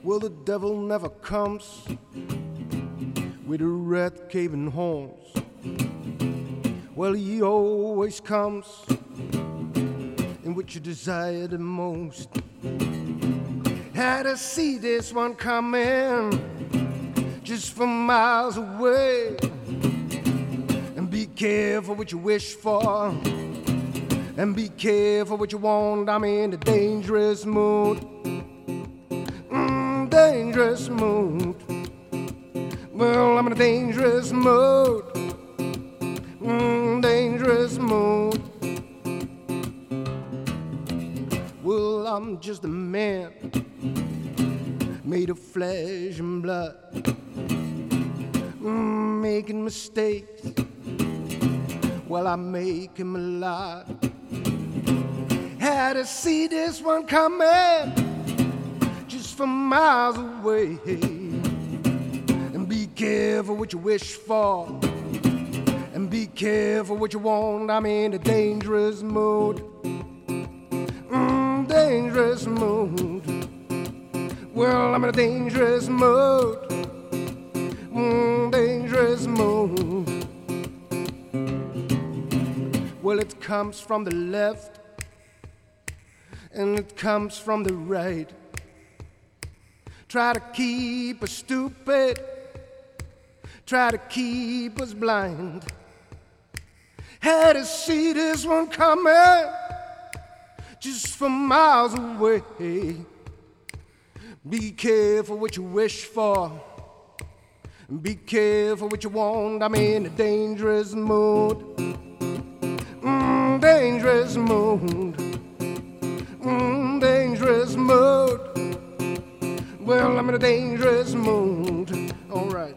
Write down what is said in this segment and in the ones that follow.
Well, the devil never comes with the red caving horns. Well, he always comes in what you desire the most. Had to see this one coming just from miles away. And be careful what you wish for, and be careful what you want. I'm in a dangerous mood, dangerous mood. Well, I'm in a dangerous mood, dangerous mood. Well, I'm just a man made of flesh and blood, making mistakes. Well, I make him a lot. Had to see this one coming just from miles away. And be careful what you wish for, and be careful what you want. I'm in a dangerous mood, dangerous mood. Well, I'm in a dangerous mood, dangerous mood. Well, it comes from the left and it comes from the right. Try to keep us stupid, try to keep us blind. Had to see this one coming just from miles away. Be careful what you wish for, and be careful what you want. I'm in a dangerous mood, dangerous mood, dangerous mood. Well, I'm in a dangerous mood. All right.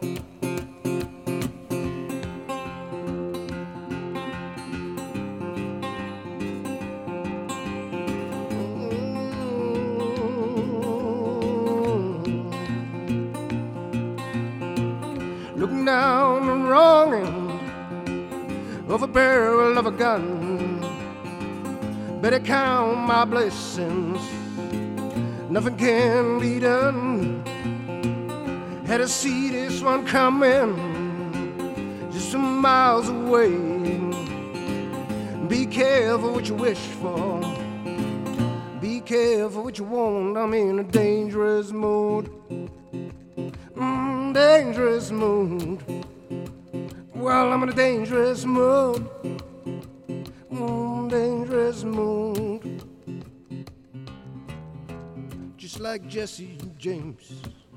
Looking down the wrong end of a barrel of a gun. Better count my blessings, nothing can be done. Had to see this one coming just some miles away. Be careful what you wish for, be careful what you want. I'm in a dangerous mood, dangerous mood. Well, I'm in a dangerous mood, dangerous mood. Just like Jesse James.